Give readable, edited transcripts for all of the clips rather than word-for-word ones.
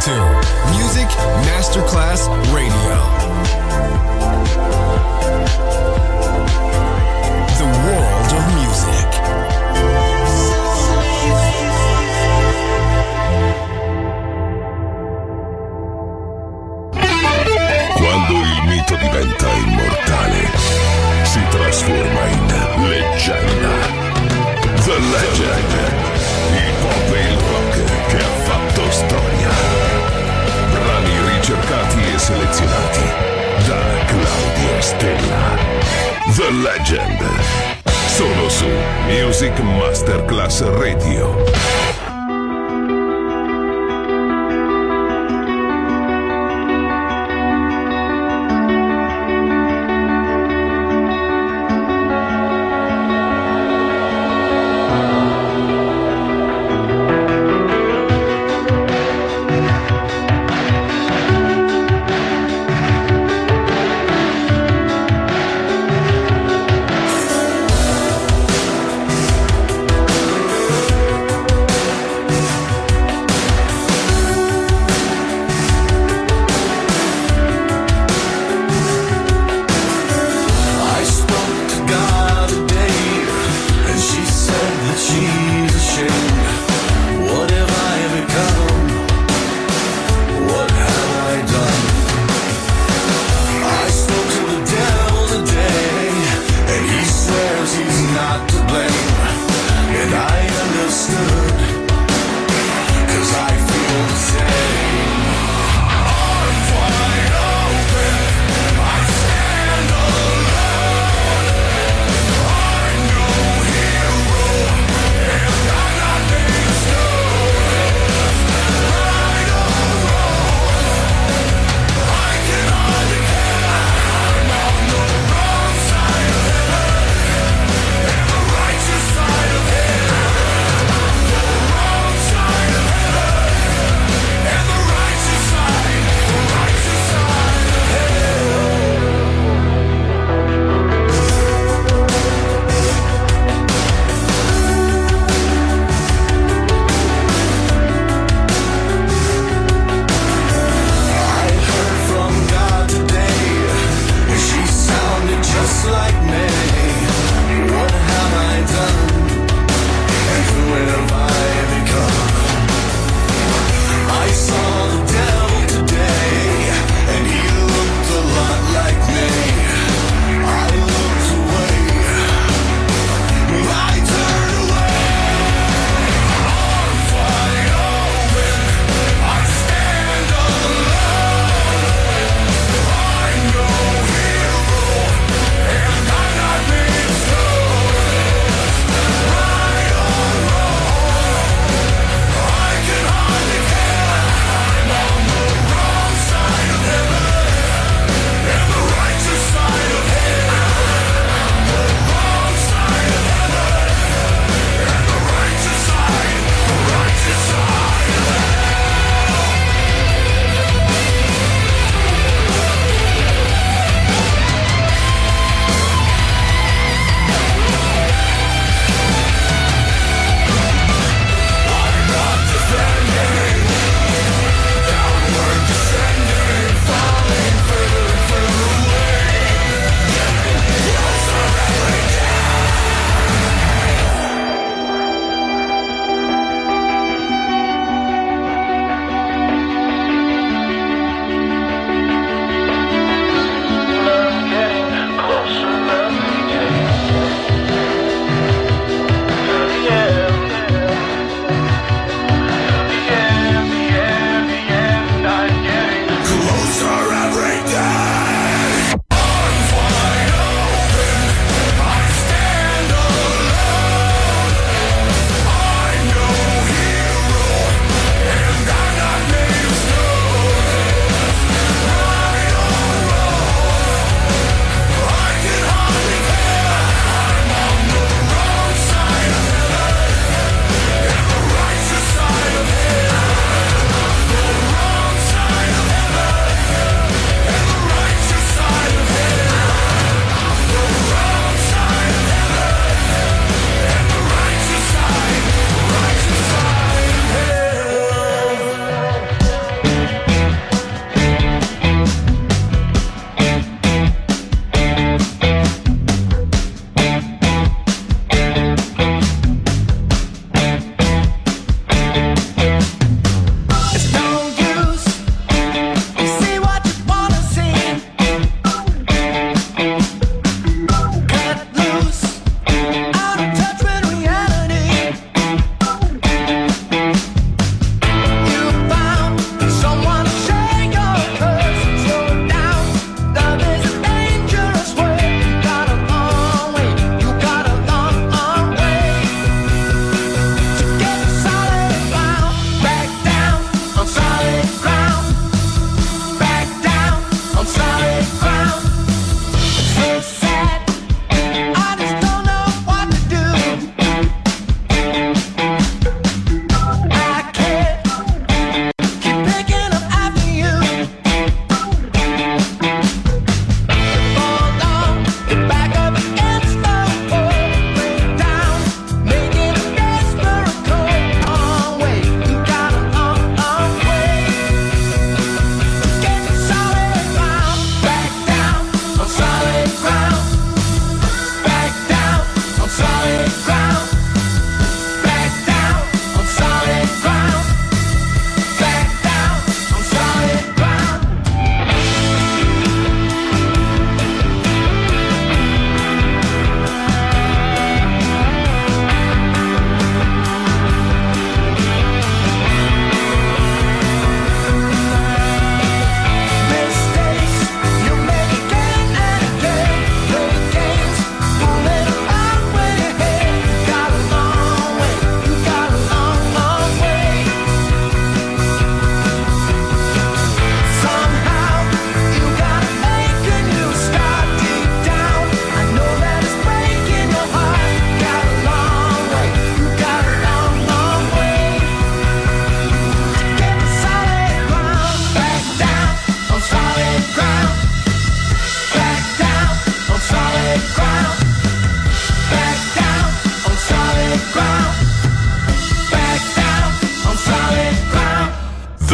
to Music Masterclass Radio. The world of music. Quando il mito diventa immortale, si trasforma in leggenda. The Legend, il pop e il rock che ha fatto storia. Brani ricercati e selezionati da Claudio Stella. The Legend, solo su Music Masterclass Radio.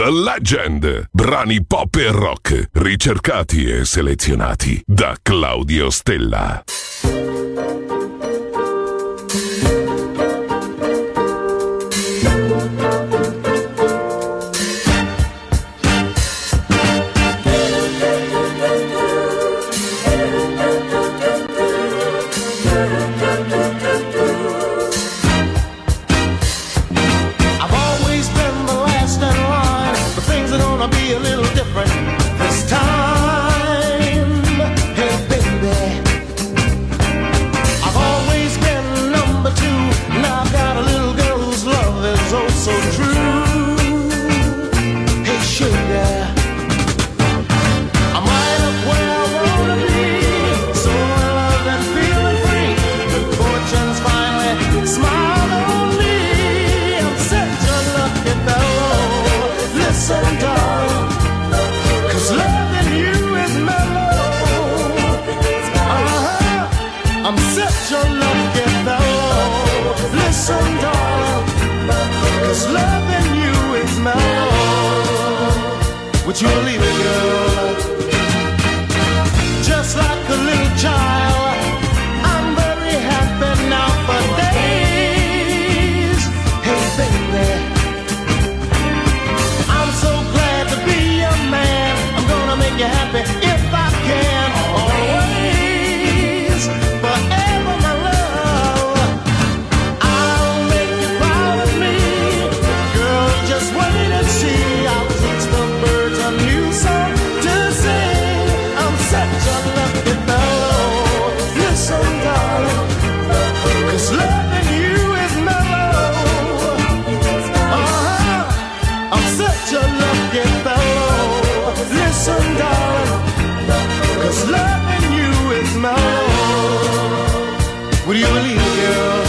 The Legend. Brani pop e rock, ricercati e selezionati da Claudio Stella. Would you believe it, girl? Just like a little child, I'm very happy now for days. Hey, baby, I'm so glad to be your man. I'm gonna make you happy if I can. Always, forever, my love. I'll make you proud of me. Girl, just wait and see. I'll teach the birds a new song to sing. I'm such a lucky fellow. Listen, darling, 'cause loving you is mellow. I'm such a lucky fellow. Listen, darling, 'cause loving you is mellow. Would you believe it, girl?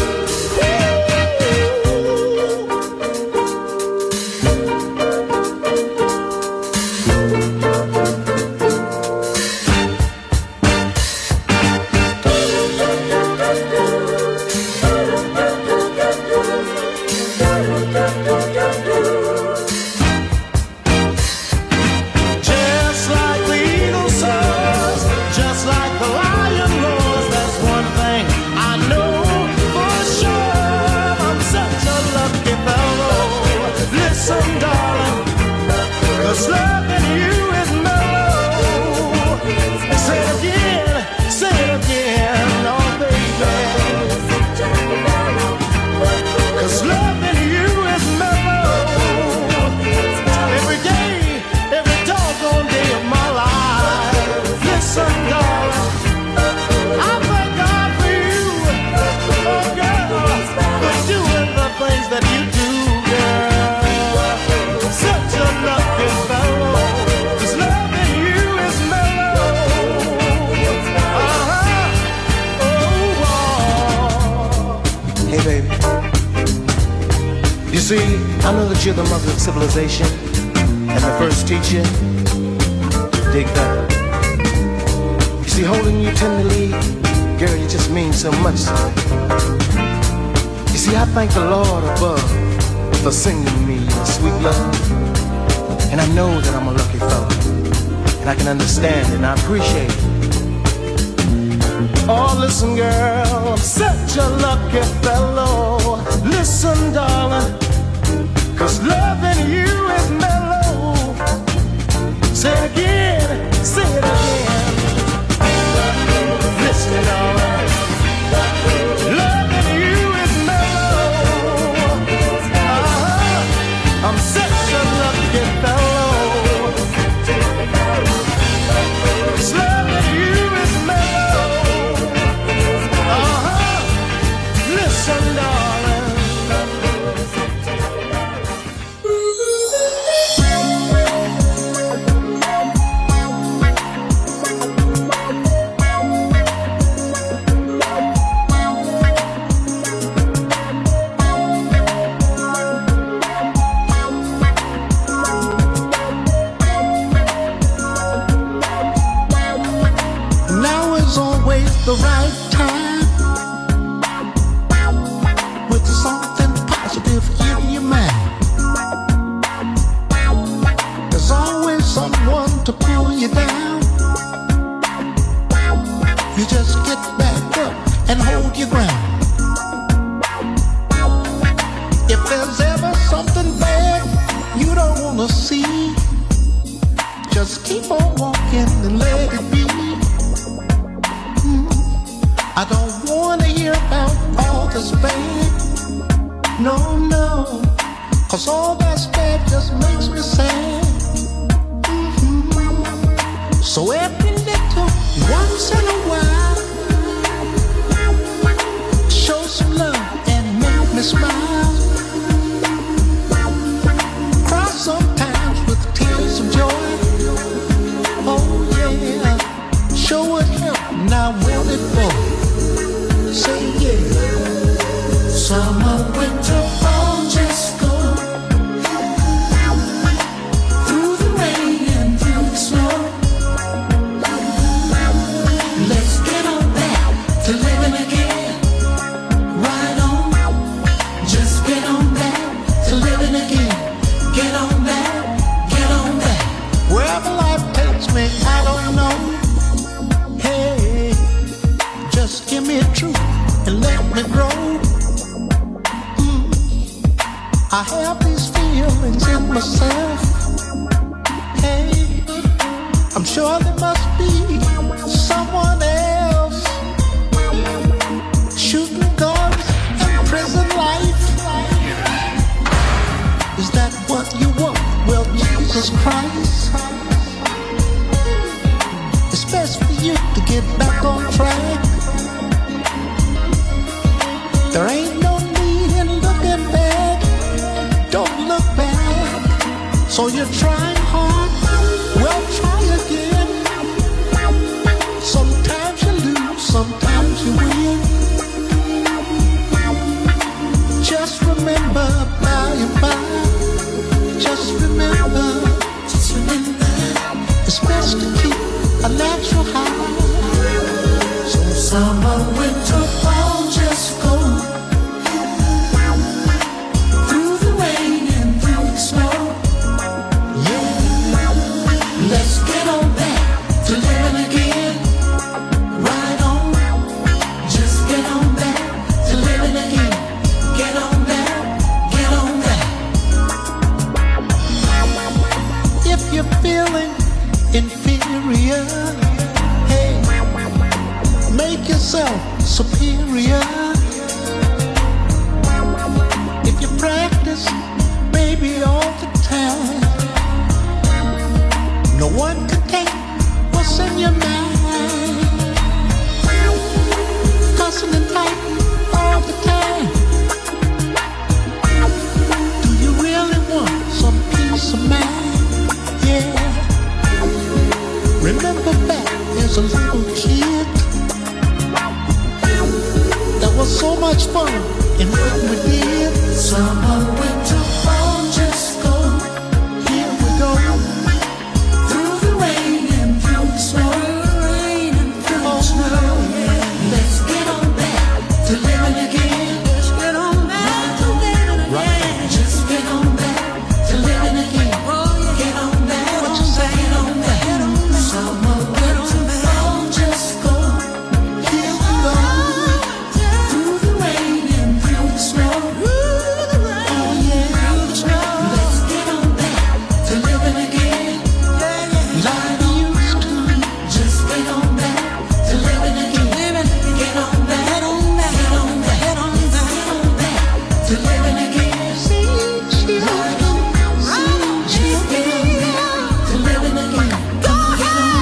Just like the eagle soars, just like the lion roars, that's one thing I know for sure. I'm such a lucky fellow. Listen, darling, 'cause loving you is mellow. Say it again, oh baby. 'Cause loving you is mellow. Every day, every doggone day of my life. Listen, darling, I thank God for you, oh girl, for doing the things that you do, girl. Such a lucky fellow, 'cause loving you is mellow. Hey, baby. You see, I know that you're the mother of civilization and my first teacher. Dig that. You see, holding you tenderly, girl, you just mean so much to me. You see, I thank the Lord above for sending me your sweet love. And I know that I'm a lucky fellow, and I can understand it and I appreciate it. Oh, listen, girl, I'm such a lucky fellow. Listen, darling, 'cause loving you is mellow. Say it again, say it again. Listen, darling, loving you is mellow. I'm such a lucky fellow. 'Cause loving you is mellow. Listen, darling. Now is always the right time with something positive in your mind. you down, you just get back up and hold your ground. If there's ever something bad you don't wanna see, just keep on walking and let it be. I don't wanna hear about all this bad, no, no, 'cause all that's bad just makes me sad. So every little once in a while, show some love and make me smile. Cry sometimes with tears of joy. Oh yeah, show it him, now will it boy. Say yeah. Summer, winter, fall, just go through the rain and through the snow. Let's get on back to living again. Right on, just get on back to living again. Get on back, get on back. Wherever life takes me, I don't know. Hey, just give me a truth and let me grow. I have these feelings in myself. Hey, I'm sure there must be someone else shooting guns in prison life. Is that what you want? Well, Jesus Christ, it's best for you to get back on track. There ain't no need in looking back. Don't look back. So you're trying hard, well, try again. Sometimes you lose, sometimes you win. Just remember, by and by, just remember, it's best to keep a natural high. So summer, winter, fall, just go through the rain and through the snow. Yeah, let's get on back to living again. Right on, just get on back to living again. Get on back, get on back. If you're feeling inferior, hey, make yourself superior. If you practice, baby, all the time, no one can take what's in your mind. Cussing and fighting all the time. Do you really want some peace of mind? Yeah. Remember back as a little kid, there was so much fun in what we did. Summer, winter, fall, just go. Here we go. Through the rain and through the snow. Let's get on back to living again. Let's get on back to living again. Just get on back to living again. Get on back. What you say? Get on back. Summer, winter, fall, just go. Here we go. Through the rain and through the snow. Oh yeah. Let's get on back to living again. Like we used to. Just get on back to living again. Get on back. Get on back. Get on back. Get on back to living again. Right on. Just get on back to living again. Get on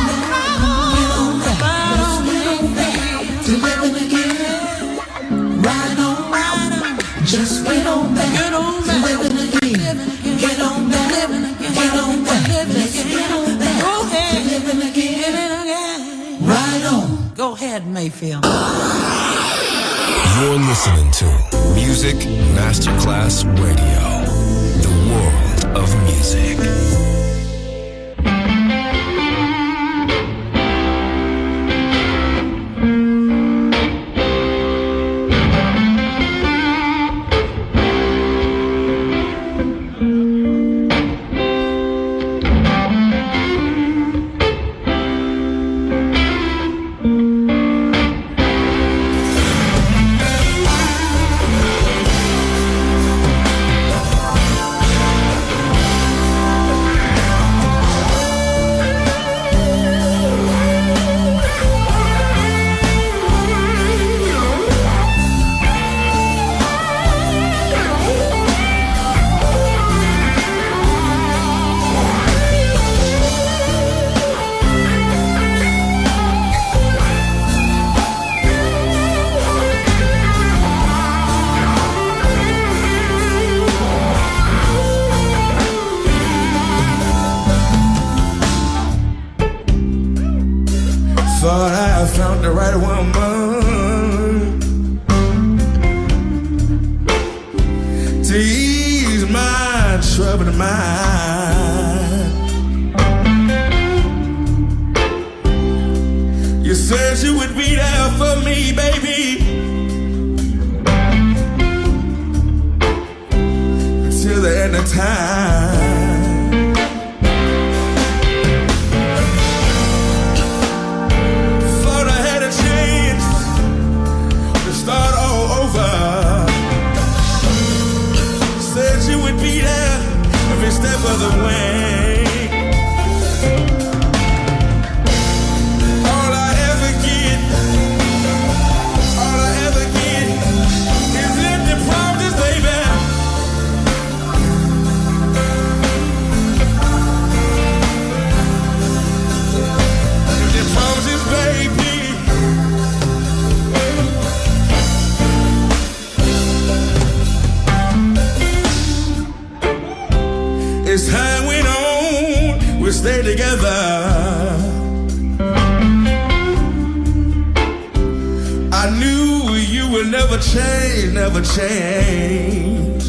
back. Let's get on back to living again. Right on. Just get on back to living again. Get on back. Get on back. Let's get on back to living again. Right on. Go ahead, Mayfield. You're listening to Music Masterclass Radio, the world of music. found the right woman to ease my troubled mind. You said you would be there for me, baby, until the end of time. Thought I had a chance to start all over. Said you would be there every step of the way. All I ever get is empty promises, baby. Empty promises, baby. As time went on, we stayed together. I knew you would never change, never change.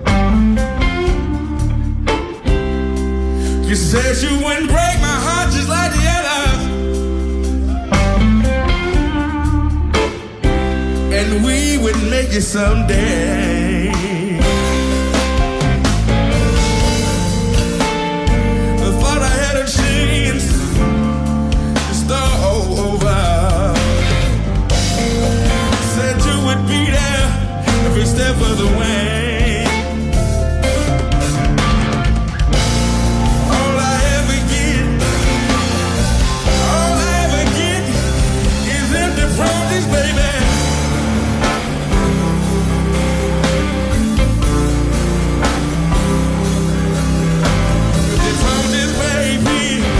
You said you wouldn't break my heart just like the others, and we would make it someday. I thought I had a chance to start all over. Said you would be there every step of the way. All I ever get is empty promises, baby. Empty promises, baby.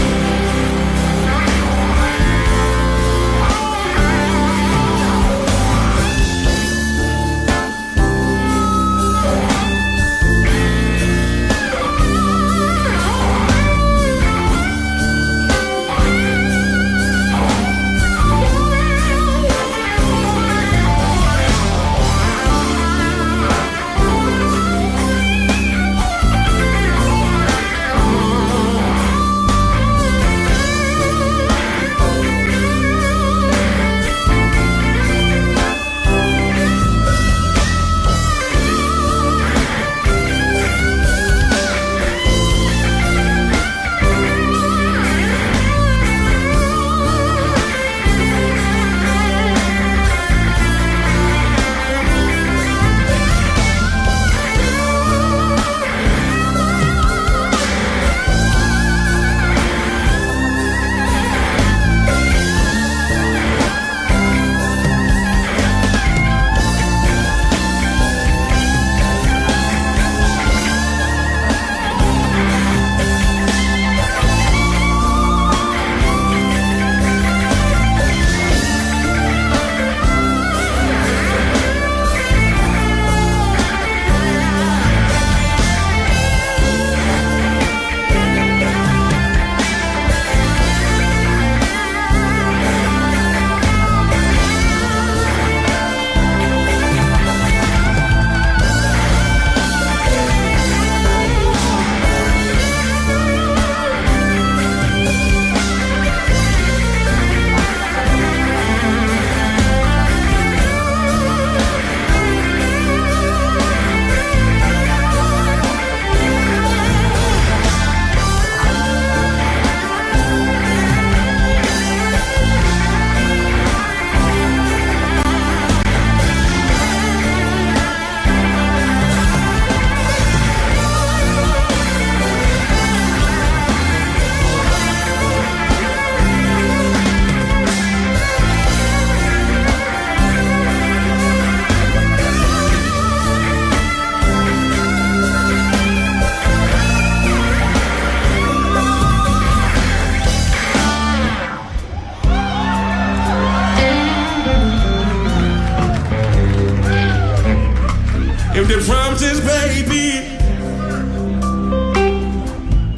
Empty promises, baby.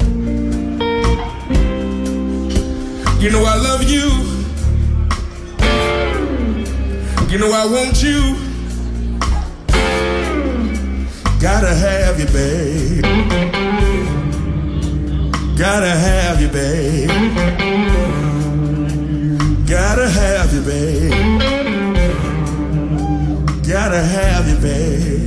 You know I love you. You know I want you. Gotta have you, babe. Gotta have you, babe. Gotta have you, babe. Gotta have you, babe.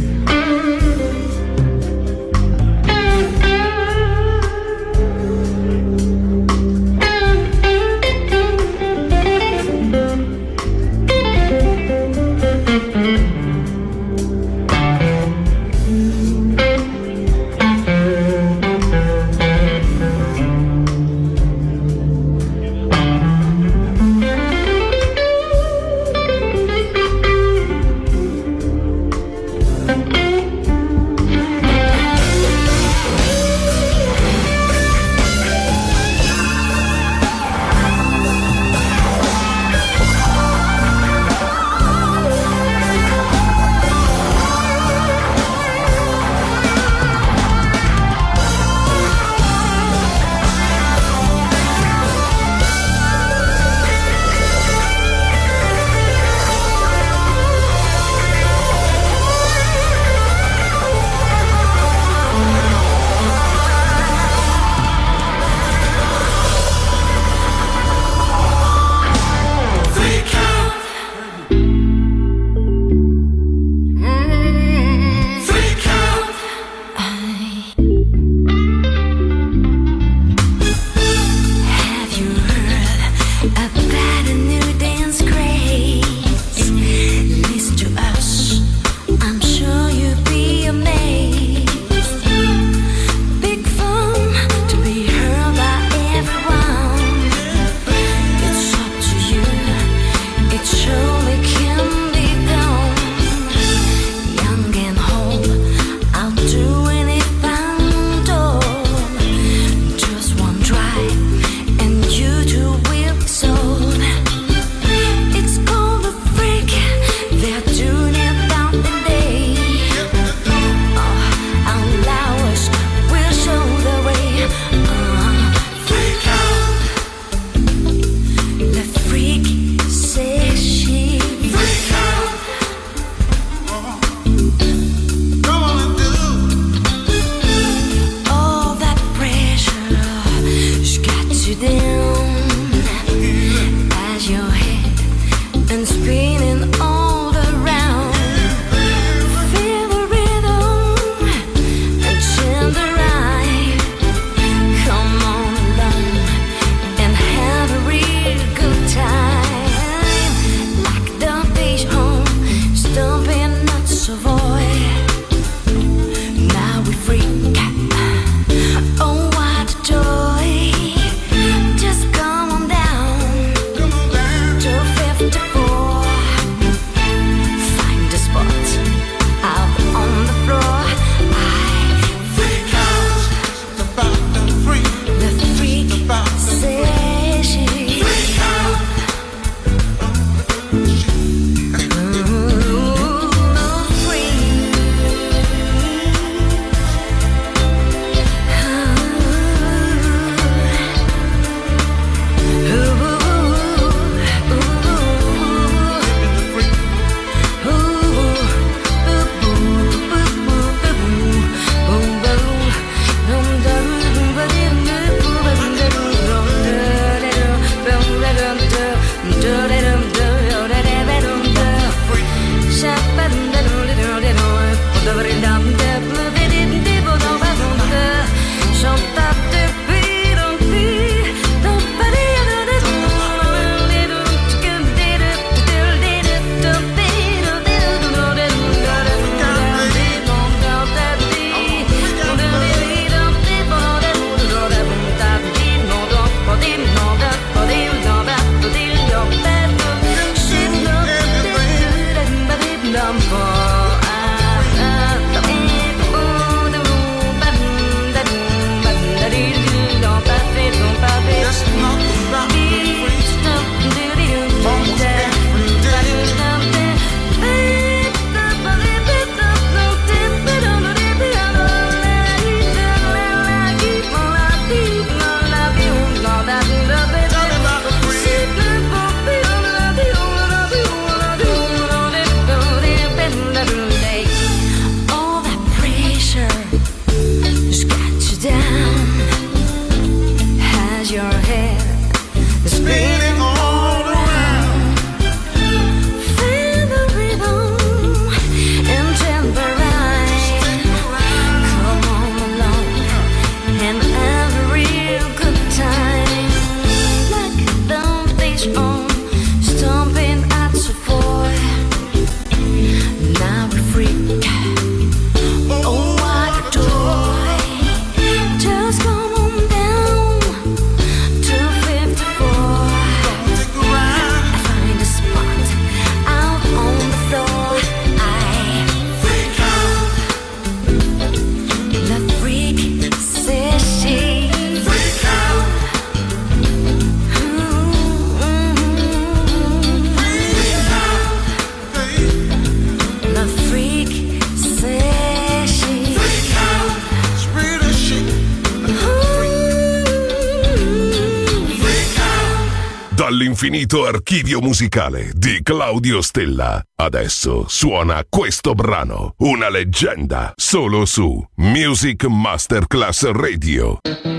l'infinito archivio musicale di Claudio Stella. Adesso suona questo brano, una leggenda, solo su Music Masterclass Radio.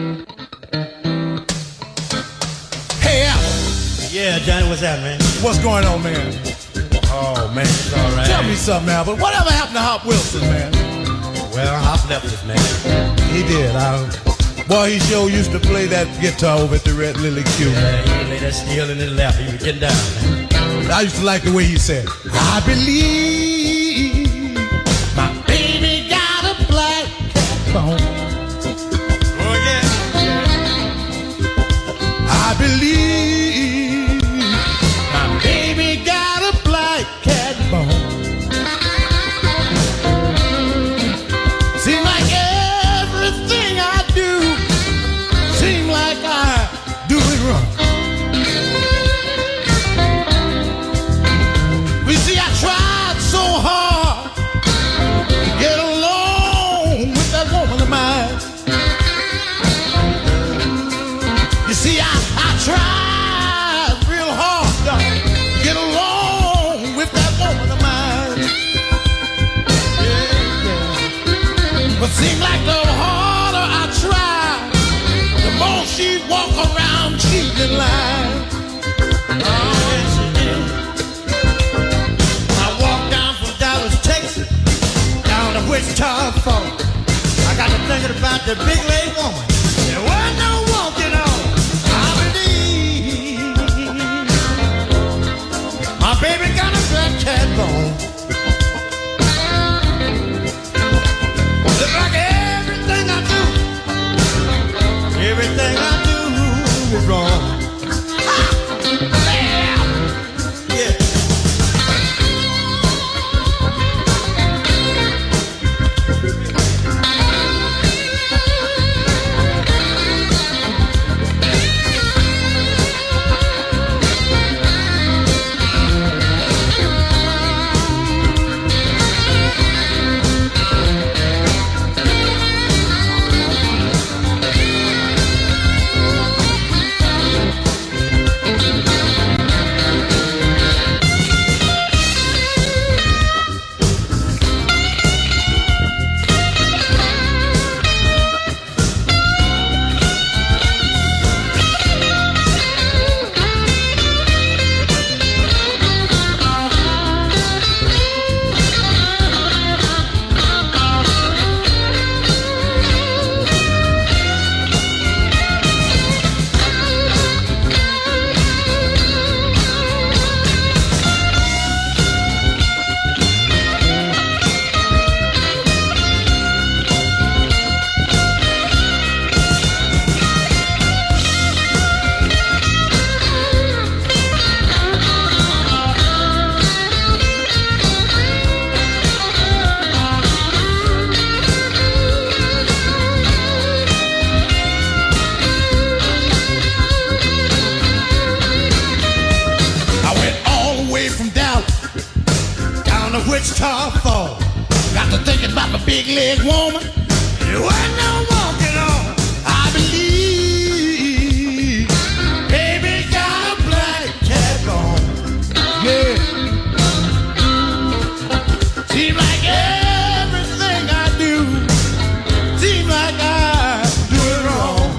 Hey, Al. Yeah, Johnny, what's that, man? What's going on, man? Oh, man, it's all right. Tell me something, Albert. Whatever happened to Hop Wilson, man? Well, Hop left us, man. He did. Boy, he sure used to play that guitar over at the Red Lily Q. Yeah, he lay that steel in his lap. He was getting down, man. I used to like the way he said, I believe my baby got a black bone. Oh, yeah. I believe my baby got a black cat bone. Seems like everything I do, seems like I do it wrong. We see I tried so hard to get along with that woman of mine. You see, I tried real hard to get along with that woman of mine. Yeah. But seems like the harder I try, the more she walk around cheating line. Oh, yes, she did. I walked down from Dallas, Texas, down to Wichita Falls. I got to thinking about the big leg woman. There wasn't no walking on. I believe my baby got a black cat bone. Look like everything I do is wrong. Yeah. Wichita Falls. Got to thinking about my big leg woman. There wasn't no walking on. I believe baby got a black cat bone. Yeah. Seems like everything I do, seems like I do it wrong.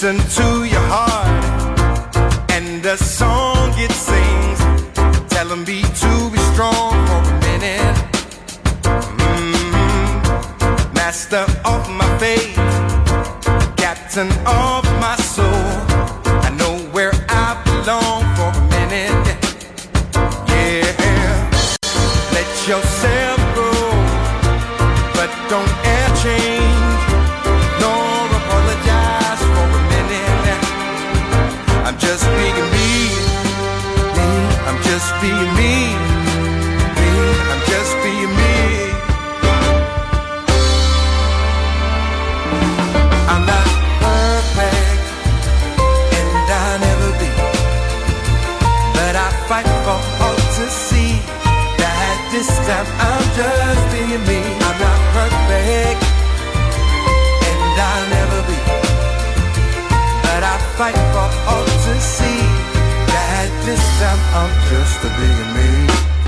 listen to your heart and the song it sings, telling me to be strong for a minute. Master of my fate, captain of my soul, I know where I belong for a minute. Yeah, let yourself go, but don't ever change, nor apologize for a minute. I'm just being me, I'm just being me, I'm just being me. I'm not perfect, and I'll never be, but I fight for all to see that this time I'm just being me. I'm not perfect, and I'll never be, but I fight for all to see that this time I'm just being me.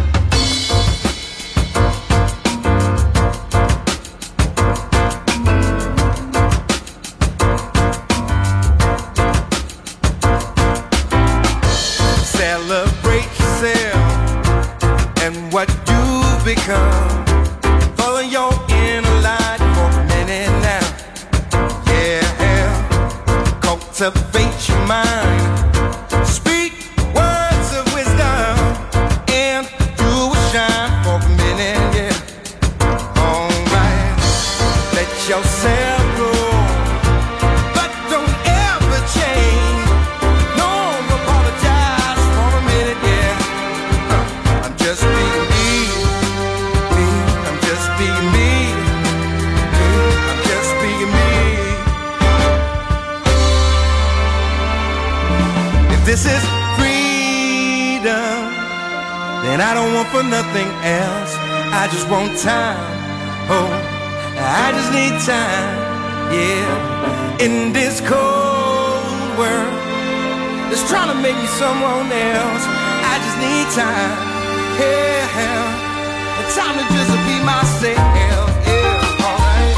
Celebrate yourself and what you've become. Follow your inner light for a minute now. Yeah, cultivate your mind. Speak words of wisdom and you will shine for a minute. Yeah, alright. Let yourself go, but don't ever change. No apologize for a minute. Yeah, I'm just being me. I'm just being me. I'm just being me. If this is freedom, then I don't want for nothing else. I just want time. Oh, I just need time. Yeah, in this cold world that's trying to make me someone else, I just need time. Yeah, time to just be myself. Yeah, alright.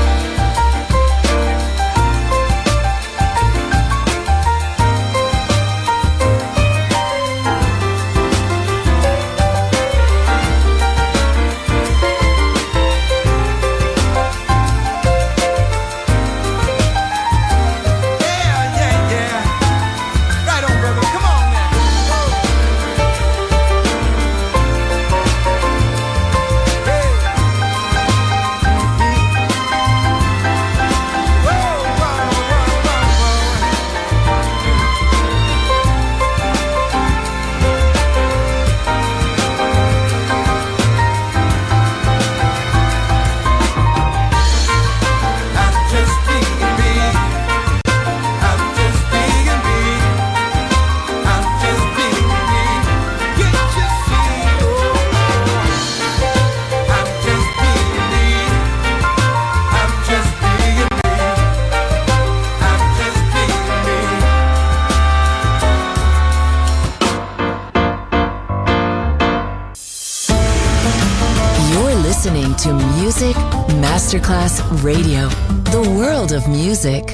Listening to Music Masterclass Radio, the world of music.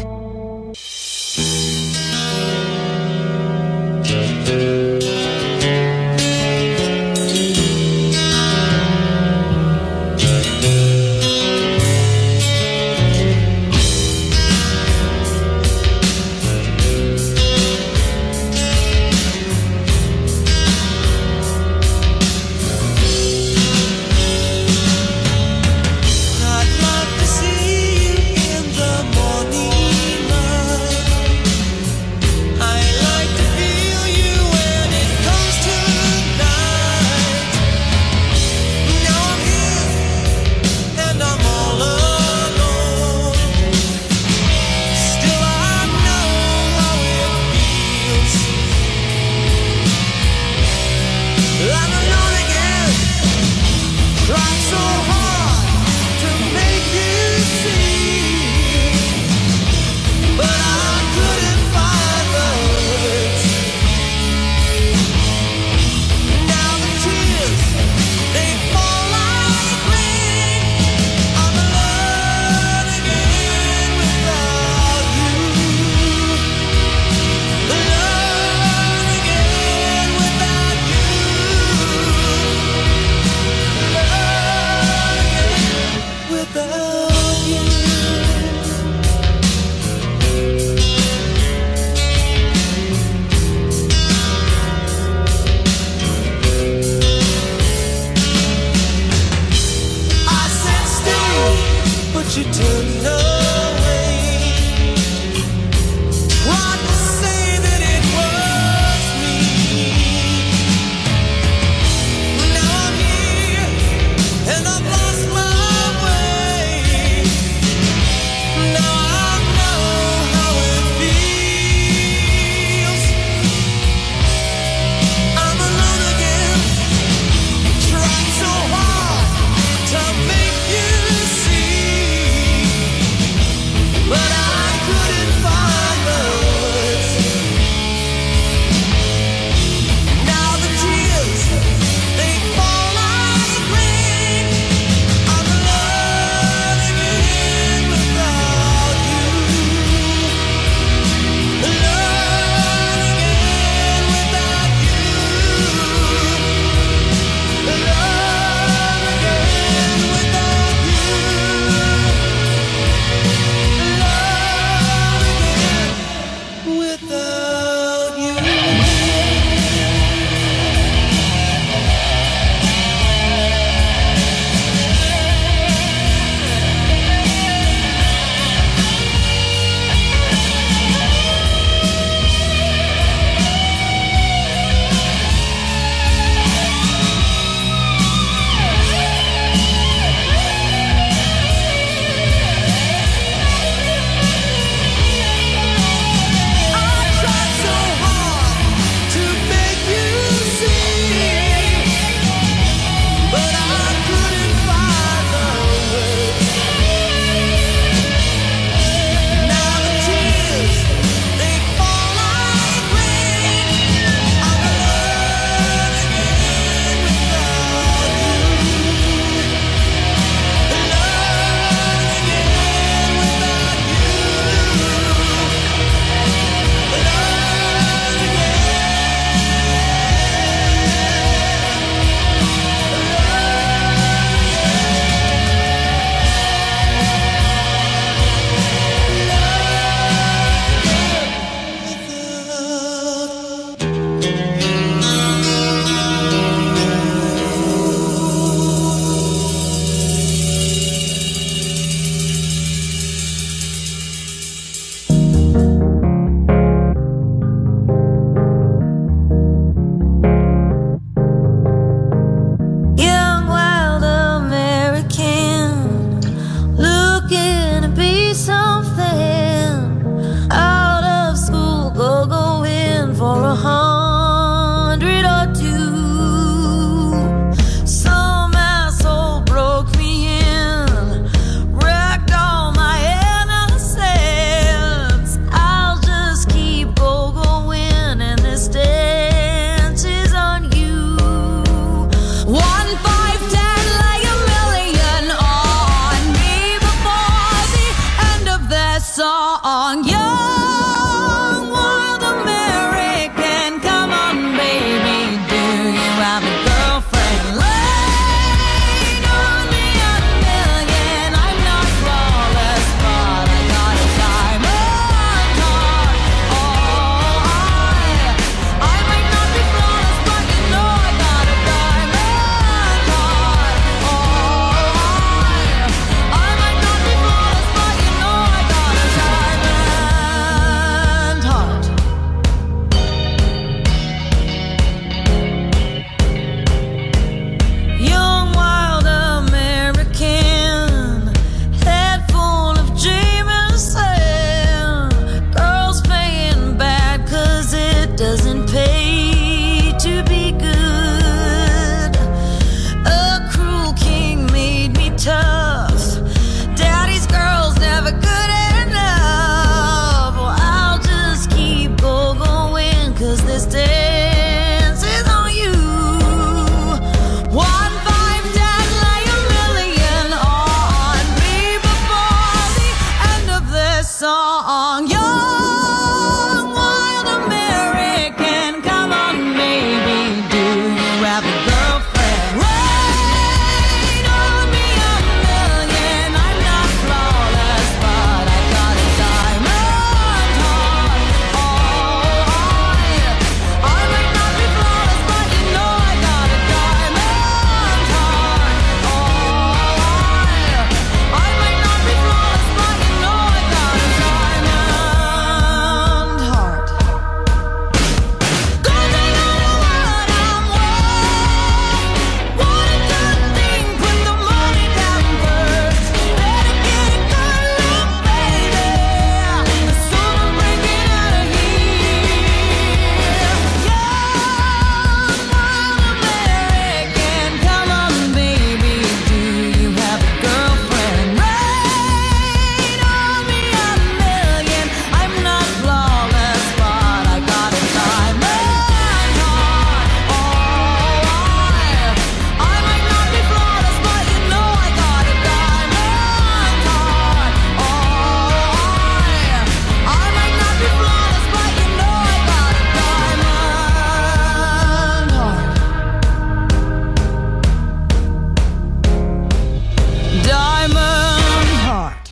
I'd love to see you in the morning.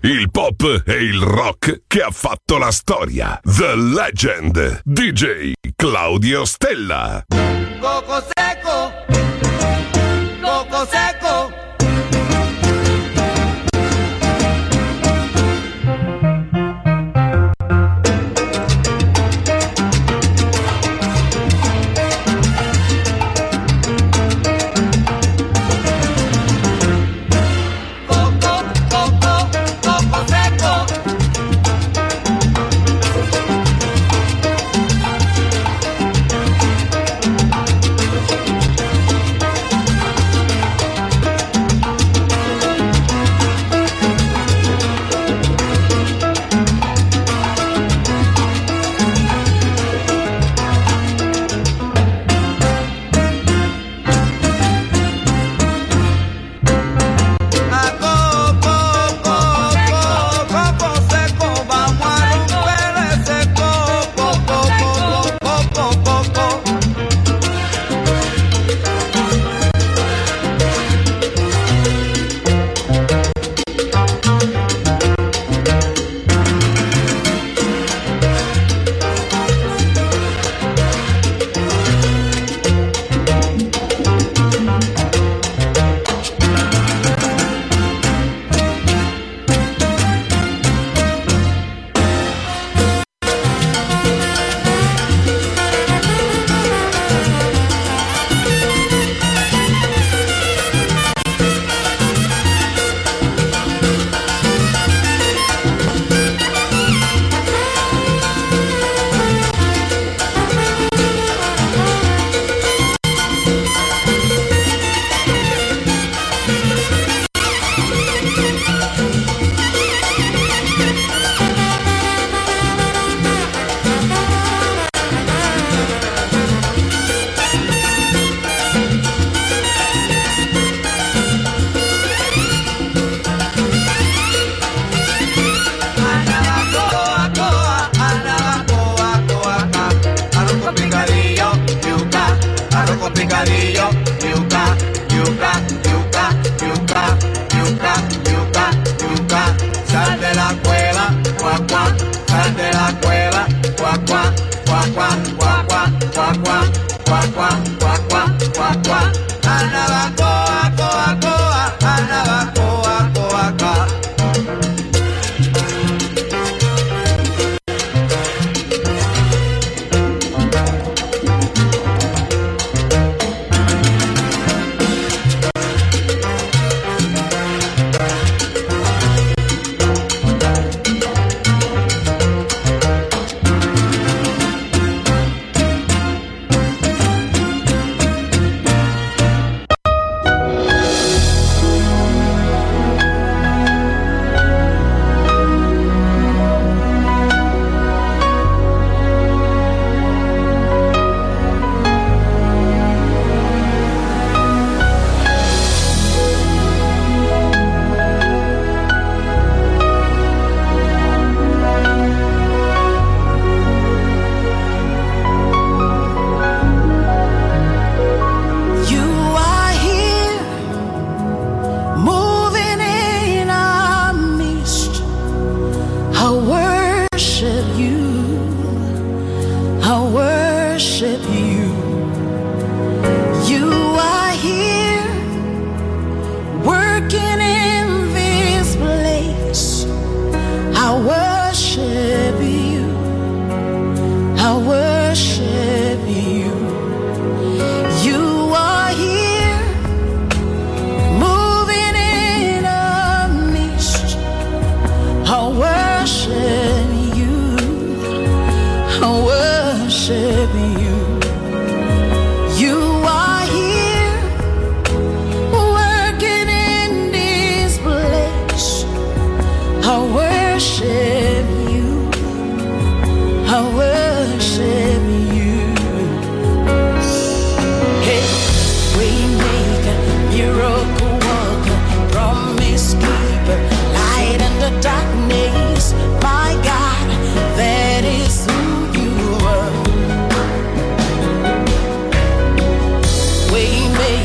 il pop e il rock che ha fatto la storia. The Legend, DJ Claudio Stella. Coco seco, coco seco.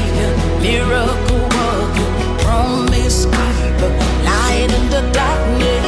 Miracle worker, promise keeper, light in the darkness.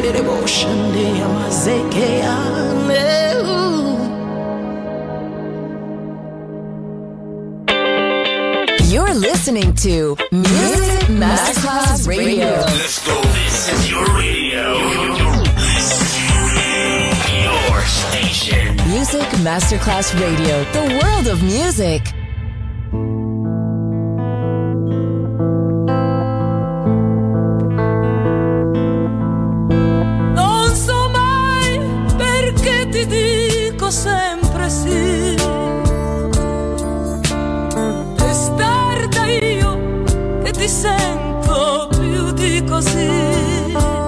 You're listening to Music Masterclass Radio. Let's go. This is your radio. Your station. Music Masterclass Radio. The world of music. Non so mai perché ti dico sempre sì. Testarda io che ti sento più di così.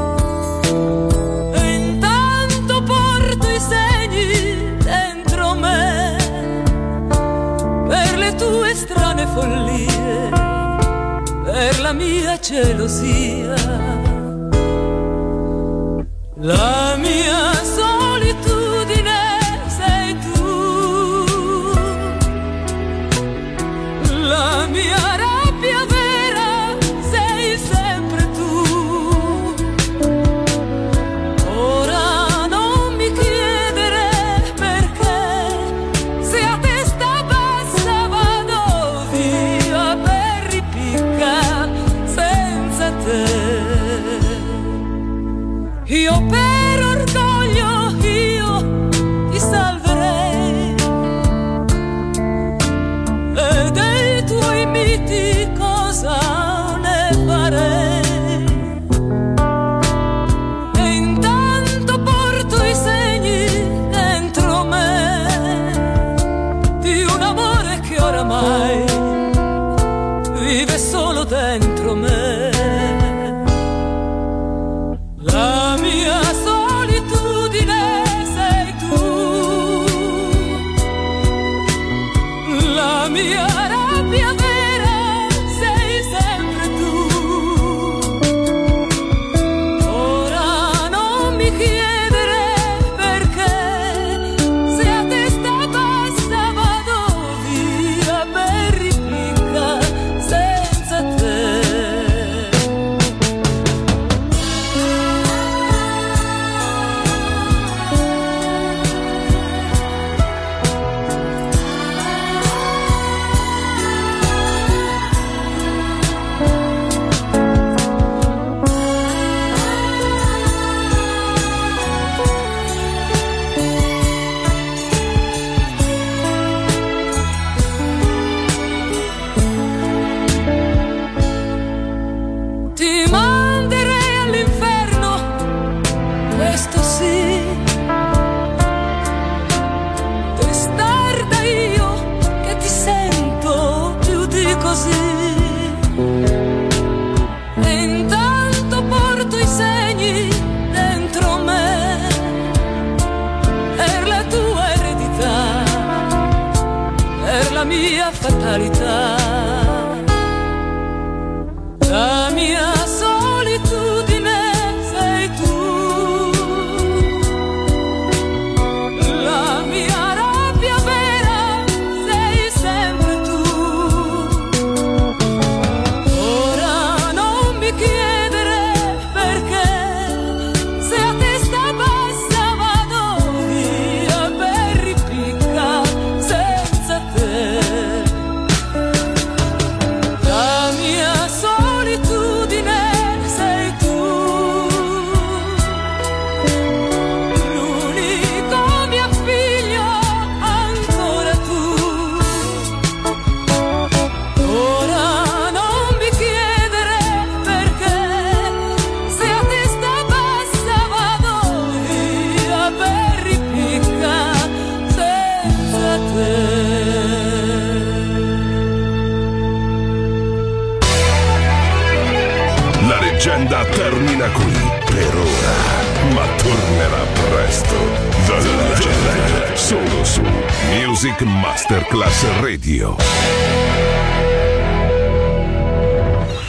E intanto porto i segni dentro me per le tue strane follie, per la mia gelosia. La mia solitudine sei tu, la mia rabbia vera sei sempre tu. Ora non mi chiedere perché, se a testa bassa vado via per ripicca senza te. Io per orgoglio io ti salverei e dei tuoi miti cosa ne farei. E intanto porto i segni dentro me di un amore che oramai vive solo dentro me. La mia solitudine sei tu, la mia rabbia vera sei sempre tu. Ora non mi chiedere perché, se a testa bassa vado via per ripicca senza te. Ti manderei all'inferno, questo sì. Testarda io che ti sento più di così. E intanto porto i segni dentro me per la tua eredità, per la mia fatalità. La mia solitudine sei tu, la mia rabbia vera sei sempre tu. Ora non mi chiedere perché, se a testa bassa vado via per ripicca senza te. La mia solitudine sei tu, l'unico mio figlio ancora tu. Ora non mi chiedere perché, se a testa bassa vado via per ripicca senza te. La leggenda termina qui per ora, ma tornerà presto. The Legend, solo su Music Masterclass Radio.